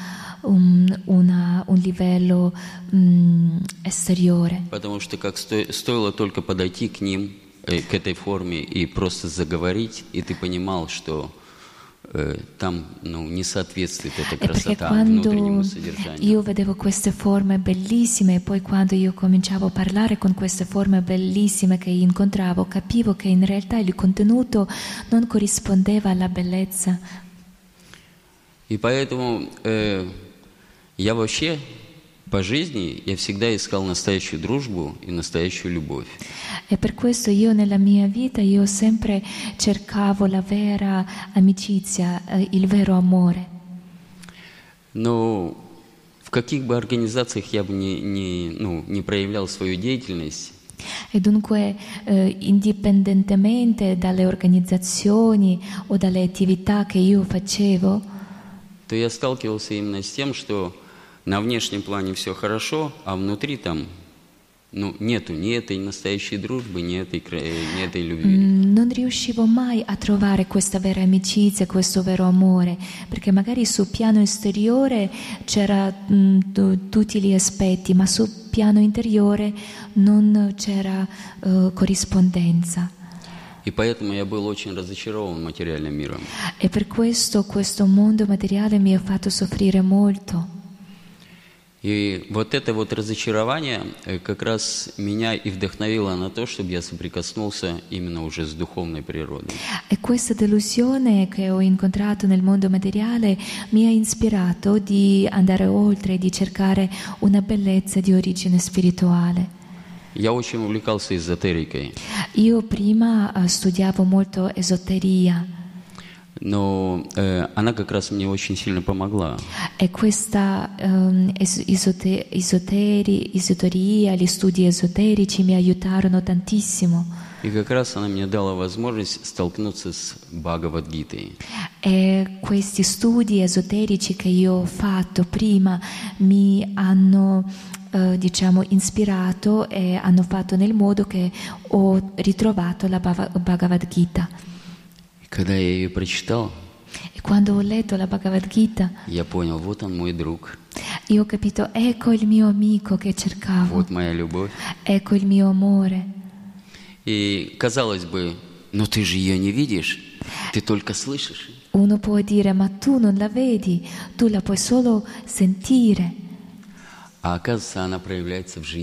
livello esteriore. Потому что как стоило только подойти к ним, к этой форме и просто заговорить, и ты понимал, что там не соответствует эта E perché красота quando внутреннему содержанию. io vedevo queste forme bellissime e poi quando io cominciavo a parlare con queste forme bellissime che incontravo, capivo che in realtà il contenuto non corrispondeva alla bellezza. И поэтому я вообще по жизни я всегда искал настоящую дружбу и настоящую любовь. E per questo io nella mia vita io sempre cercavo la vera amicizia, il vero amore. Но в каких бы организациях я бы не проявлял свою деятельность, E dunque, indipendentemente dalle organizzazioni o dalle attività che io facevo, то я сталкивался именно с тем, что на внешнем плане все хорошо, а внутри там нету ни этой настоящей дружбы, ни этой любви. non riuscivo mai a trovare questa vera amicizia, questo vero amore, perché magari sul piano esteriore c'era tutti gli aspetti, ma sul piano interiore non c'era corrispondenza. И поэтому я был очень разочарован материальным миром. E per questo mondo materiale mi ha fatto soffrire molto. И вот это вот разочарование как раз меня и вдохновило на то, чтобы я соприкоснулся именно уже с духовной природой. E questa delusione che ho incontrato nel mondo materiale mi ha ispirato di andare oltre, di cercare una bellezza di origine spirituale. Я очень увлекался эзотерикой, Io prima studiavo molto esoteria но она как раз мне очень сильно помогла. e questa esoteria, gli studi esoterici mi aiutarono tantissimo. И как раз она мне dала возможность столкнуться с Бхагавад-гитой. E questi studi esoterici che io ho fatto prima mi hanno ispirato e hanno fatto nel modo che ho ritrovato la Bhagavad Gita. И когда я ее прочитал, E quando ho letto la Bhagavad Gita, я понял, вот он мой друг, io ho capito, ecco il mio amico che cercavo, вот моя любовь. ecco il mio amore. И казалось бы, но ты же ее не видишь, ты только слышишь. Uno può dire, ma tu non la vedi, tu la puoi solo sentire. А оказывается, она проявляется в жизни.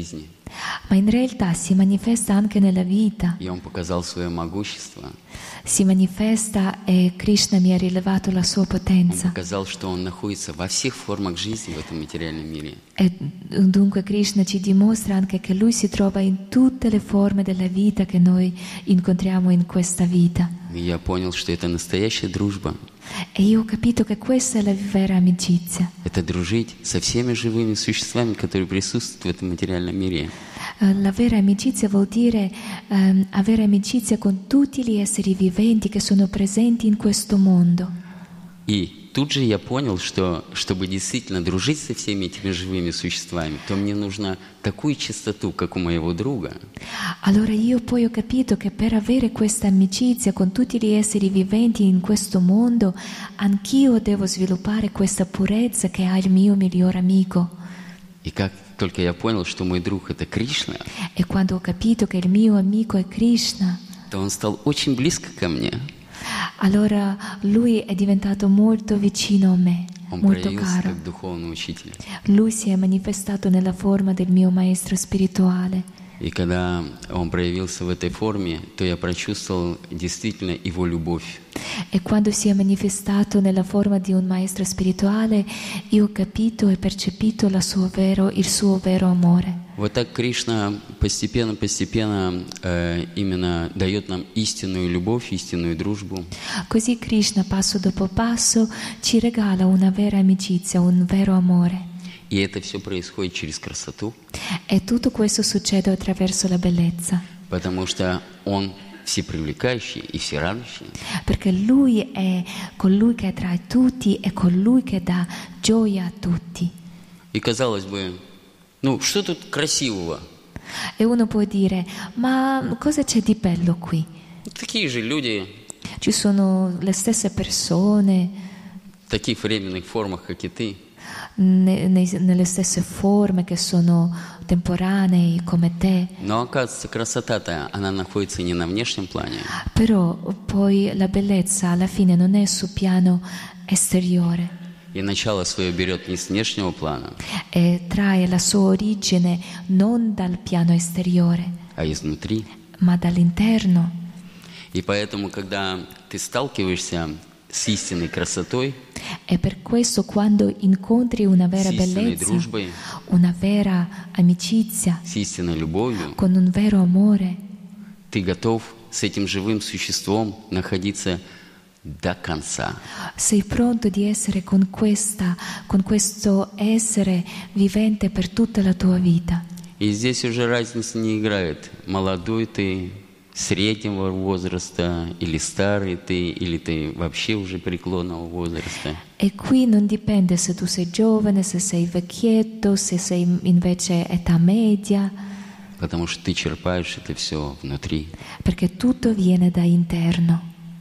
ma in realtà si manifesta anche nella vita. И Он показал свое могущество. Si manifesta e Krishna mi ha rilevato la sua Он potenza. показал, что Он находится во всех формах жизни в этом материальном мире. E dunque Krishna ci dimostra anche che Lui si trova in tutte le forme della vita che noi incontriamo in questa vita. И я понял, что это настоящая дружба. E io ho capito che questa è la vera amicizia. Это дружить со всеми живыми существами, которые присутствуют в этом материальном мире. La vera amicizia vuol dire avere amicizia con tutti gli esseri viventi che sono presenti in questo mondo. И тут же я понял, что чтобы действительно дружить со всеми этими живыми существами, то мне нужна такую чистоту, как у моего друга. Allora io poi ho capito che per avere questa amicizia con tutti gli esseri viventi in questo mondo, anch'io devo sviluppare questa purezza che ha il mio miglior amico. И как только я понял, что мой друг — это Кришна, E quando ho capito che il mio amico è Krishna, то он стал очень близко ко мне. allora lui è diventato molto vicino a me, Он molto проявился caro. как духовный учитель. Lui si è manifestato nella forma del mio maestro spirituale. И когда он проявился в этой форме, то я прочувствовал действительно его любовь. E quando si è manifestato nella forma di un maestro spirituale, io ho capito e percepito il suo vero amore. Вот так Кришна постепенно именно дает нам истинную любовь, истинную дружбу. Così Krishna, passo dopo passo, ci regala una vera amicizia, un vero amore. И это все происходит через красоту, E tutto questo succede attraverso la bellezza, потому что Он всепривлекающий и всерадующий. perché Lui è colui che attrae tutti e colui che dà gioia a tutti. И казалось бы, ну что тут красивого? E uno può dire, ma cosa c'è di bello qui? Такие же люди, Ci sono le stesse persone, в таких временных формах, как и ты. nelle stesse forme che sono temporanei come te, Но оказывается, красота-то, она находится не на внешнем плане, però poi la bellezza alla fine non è sul piano esteriore и начало свое берет не с внешнего плана, e trae la sua origine non dal piano esteriore, а изнутри. ma dall'interno. И поэтому, когда ты сталкиваешься с истинной красотой, E per questo quando incontri una vera с истинной bellezza, дружбой, una vera amicizia, с истинной любовью, con un vero amore, ты готов с этим живым существом находиться до конца. sei pronto di essere con questo essere vivente per tutta la tua vita. И здесь уже разница не играет, молодой ты, среднего возраста, или старый ты, или ты вообще уже преклонного возраста. E qui non dipende se tu sei giovane, se sei vecchietto, se sei invece età media, Потому что ты черпаешь это все внутри. perché tutto viene da interno.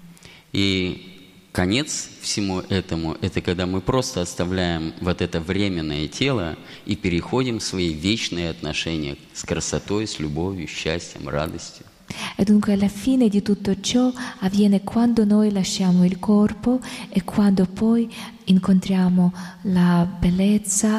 И конец всему этому — это когда мы просто оставляем вот это временное тело и переходим в свои вечные отношения с красотой, с любовью, счастьем, радостью. E dunque alla fine di tutto ciò avviene quando noi lasciamo il corpo e quando poi incontriamo la bellezza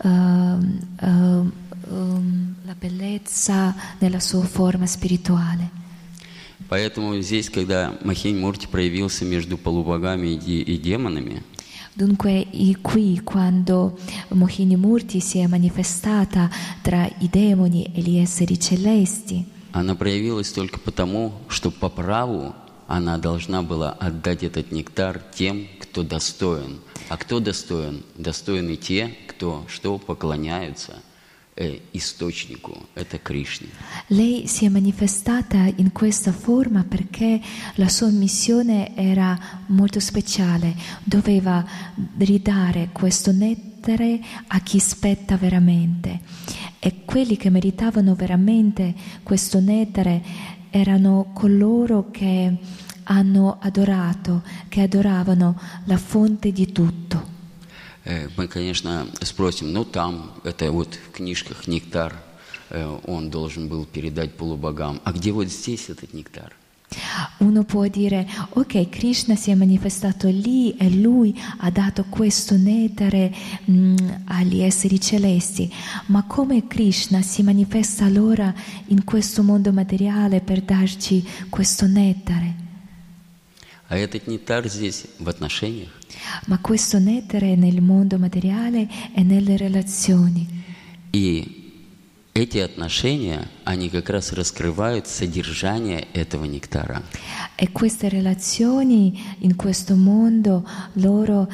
nella sua forma spirituale. Поэтому здесь, когда Махинь Мурти проявился между полубогами и демонами, Dunque qui quando Mohini Murti si è manifestata tra i demoni e gli esseri celesti, она проявилась только потому, что по праву она должна была отдать этот нектар тем, кто достоин. А кто достоин? Достойны те, кто что поклоняются источнику, это Кришне. lei si è manifestata in questa forma perché la sua missione era molto speciale, doveva ridare questo nettare a chi spetta veramente. E quelli che meritavano veramente questo nettare erano coloro che hanno adorato, che adoravano la fonte di tutto. Мы, конечно, спросим, ну там, это вот в книжках нектар, он должен был передать полубогам. А где вот здесь этот нектар? Uno può dire, ok, Krishna si è manifestato lì e lui ha dato questo nettare agli esseri celesti, ma come Krishna si manifesta allora in questo mondo materiale per darci questo nettare? А этот нектар здесь в отношениях. Ma questo nettare è nel mondo materiale e nelle relazioni. И эти отношения, они как раз раскрывают содержание этого нектара. E queste relazioni in questo mondo, loro,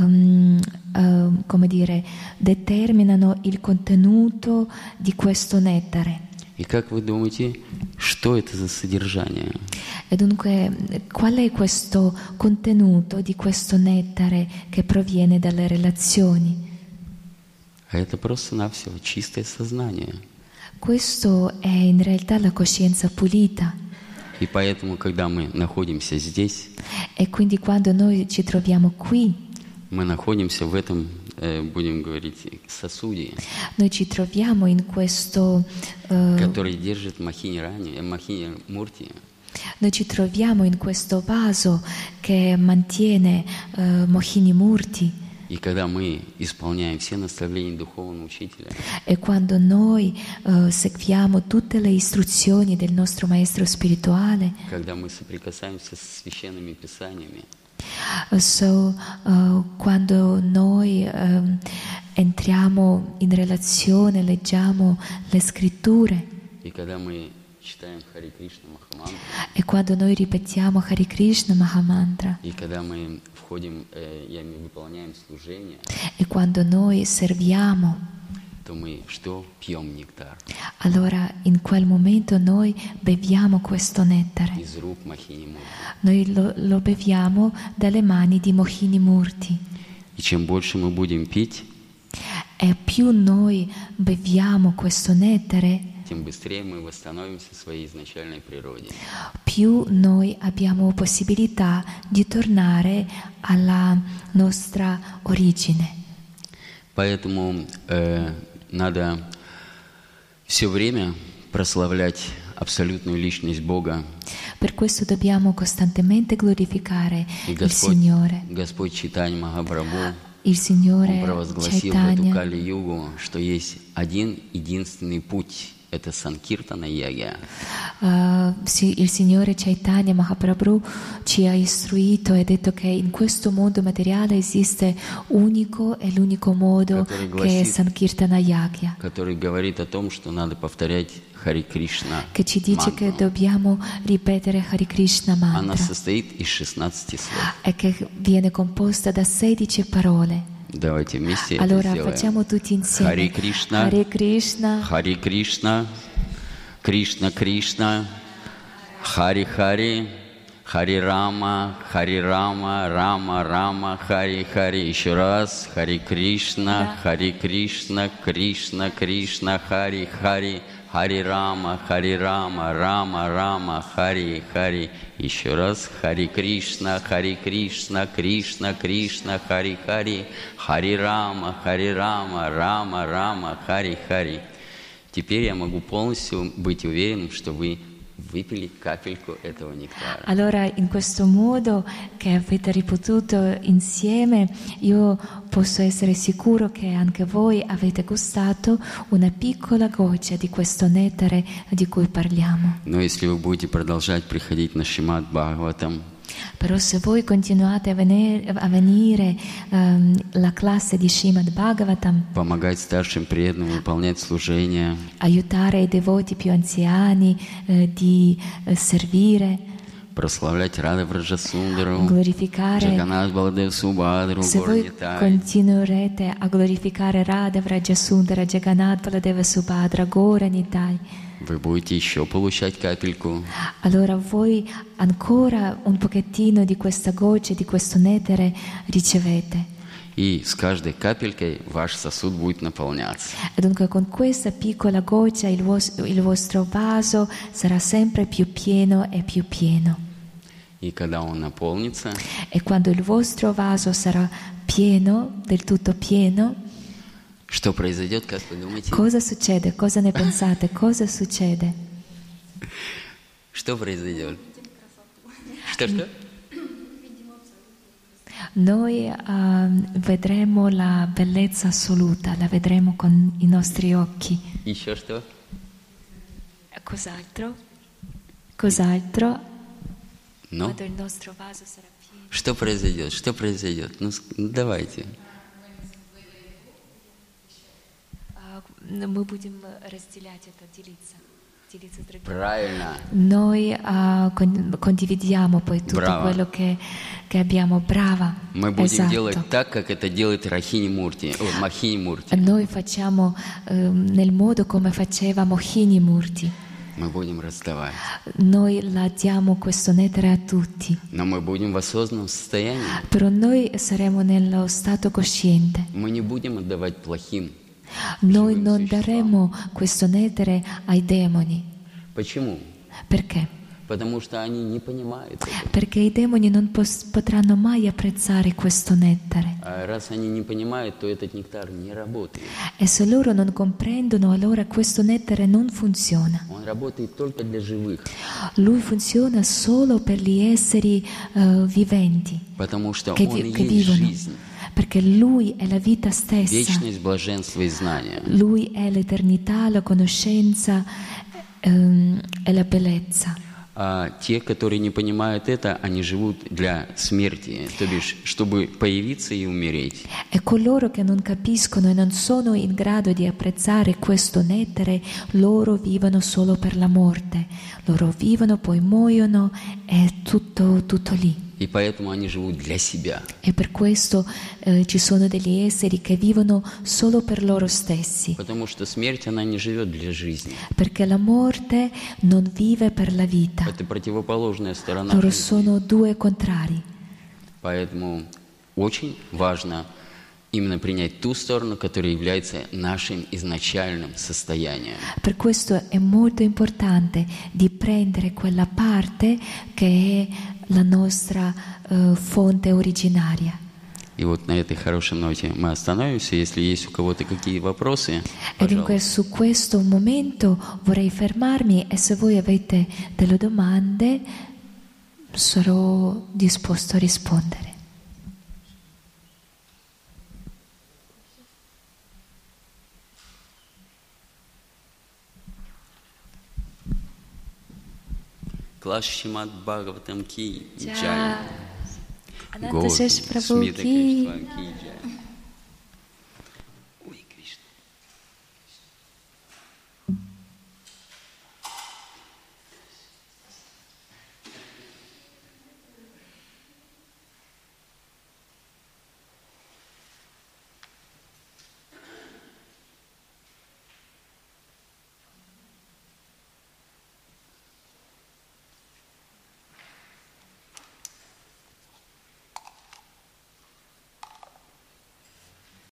come dire, determinano il contenuto di questo nettare. И как вы думаете, что это за содержание? E dunque, qual è questo contenuto di questo nettare che proviene dalle relazioni? А это просто-навсего чистое сознание. Questo è in realtà la coscienza pulita. И поэтому, когда мы находимся здесь, E quindi quando noi ci troviamo qui, мы находимся в этом, будем говорить, сосуде, noi ci troviamo in questo, который держит Махини Мурти. noi ci troviamo in questo vaso che mantiene Mohini Murti. И когда мы исполняем все наставления духовного учителя, E quando noi seguiamo tutte le istruzioni del nostro maestro spirituale, когда мы соприкасаемся с священными писаниями, quando noi entriamo in relazione, leggiamo le scritture и когда мы читаем Хари Кришна Махамантру, e quando noi ripetiamo Hare Krishna Mahamantra и когда мы входим, выполняем служение, e quando noi serviamo, то мы что? Пьем нектар allora in quel momento noi beviamo questo nettare. из рук Махини Мурти. Noi lo beviamo dalle mani di Mohini Murti. И чем больше мы будем пить, E più noi beviamo questo nettare, тем быстрее мы восстановимся в своей изначальной природе. più noi abbiamo possibilità di tornare alla nostra origine. Поэтому надо все время прославлять абсолютную личность Бога. Per questo dobbiamo costantemente glorificare И il Signore. Господь Чайтанья Махапрабху, Il Он Signore провозгласил в эту Chaitanya, Кали-югу, что есть один единственный путь. Это Санкиртана Ягья. il Signore Chaitanya Mahaprabhu ci ha istruito e detto che in questo mondo materiale esiste unico e l'unico modo che è Sankirtana Yagya, Который говорит о том, что надо повторять Хари Кришна che ci dice che мантру. dobbiamo ripetere Hare Krishna Она mantra состоит из 16 слов. e che viene composta da 16 parole. Давайте вместе Allora это facciamo сделаем. tutti insieme Хари Кришна, Hare Krishna, Хари Кришна, Кришна Кришна, Хари Хари, Хари Рама, Рама Рама, Хари Хари. Еще раз. Хари Кришна, Кришна Кришна, Хари Хари. Хари Рама, Рама Рама, Хари Хари. Еще раз. Хари Кришна, Кришна Кришна, Хари Хари. Хари Рама, Рама Рама, Хари Хари. Теперь я могу полностью быть уверенным, что вы выпили капельку этого нектара. Allora, in questo modo che avete ripetuto insieme, io posso essere sicuro che anche voi avete gustato una piccola goccia di questo nettare di cui parliamo. Но если вы будете продолжать приходить на Шримад Бхагаватам, Però se voi continuate a venire alla classe di Srimad Bhagavatam, помогать старшим преданным выполнять служение, aiutare i devoti più anziani di servire, прославлять Рада Враджасундару, glorificare. Джаганат Баладев Субадру, Se voi Горнитай, continuerete a glorificare Radha Vrajasundara, Jagannath Baladeva Subhadra, Gora Nitai, вы будете еще получать капельку. allora voi ancora un pochettino di questa goccia, di questo nettare ricevete. И с каждой капелькой ваш сосуд будет наполняться. E dunque con questa piccola goccia il vostro vaso sarà sempre più pieno e più pieno. И когда он наполнится, E quando il vostro vaso sarà pieno, del tutto pieno, что произойдет, как вы думаете? cosa succede? Cosa ne pensate? Cosa succede? Что произойдет? Что-что? Noi vedremo la bellezza assoluta, la vedremo con i nostri occhi. Еще что? Cos'altro? Cos'altro? Ну, Quando il nostro vaso sarà pieno. что произойдет? Что произойдет? Ну, давайте. Мы будем разделять это, делиться с другими. Правильно. Noi condividiamo poi tutto Brava. quello che abbiamo. Brava. Мы будем Esatto. делать так, как это делает Махини Мурти. Noi facciamo nel modo come faceva Mohini Murti. Мы будем раздавать. Noi la diamo questo nettare a tutti, Но мы будем в осознанном состоянии. però noi saremo nello stato cosciente. Мы не будем отдавать плохим. Noi non daremo questo nettare ai demoni. Почему? Perché? Потому что они не понимают этого. Perché i demoni non potranno mai apprezzare questo nettare. А раз они не понимают, то этот нектар не работает. E se loro non comprendono, allora questo nettare non funziona. Он работает только для живых. Lui funziona solo per gli esseri viventi Потому что che он и есть vivono. жизнь. Perché Lui è la vita stessa. Вечность, блаженство и знание. Lui è l'eternità, la conoscenza e la bellezza. А те, которые не понимают это, они живут для смерти, то бишь, чтобы появиться и умереть. E coloro che non capiscono e non sono in grado di apprezzare questo nettare, loro vivono solo per la morte. Loro vivono, poi muoiono, è tutto lì. И поэтому они живут для себя. E per questo ci sono degli esseri che vivono solo per loro stessi. Потому что смерть, она не живет для жизни. Perché la morte non vive per la vita. Это противоположная сторона Loro жизни. sono due contrari. Поэтому очень важно именно принять ту сторону, которая является нашим изначальным состоянием. Per questo è molto importante di prendere quella parte che è la nostra fonte originaria. И вот на этой хорошей ноте мы остановимся. Если есть у кого-то какие вопросы, E dunque пожалуйста. su questo momento vorrei fermarmi e se voi avete delle domande sarò disposto a rispondere. Клаш Шримад Бхагаватам ки джай. Ciao. Ananta Shesh Prabhu Смита ki Кришна ки джай.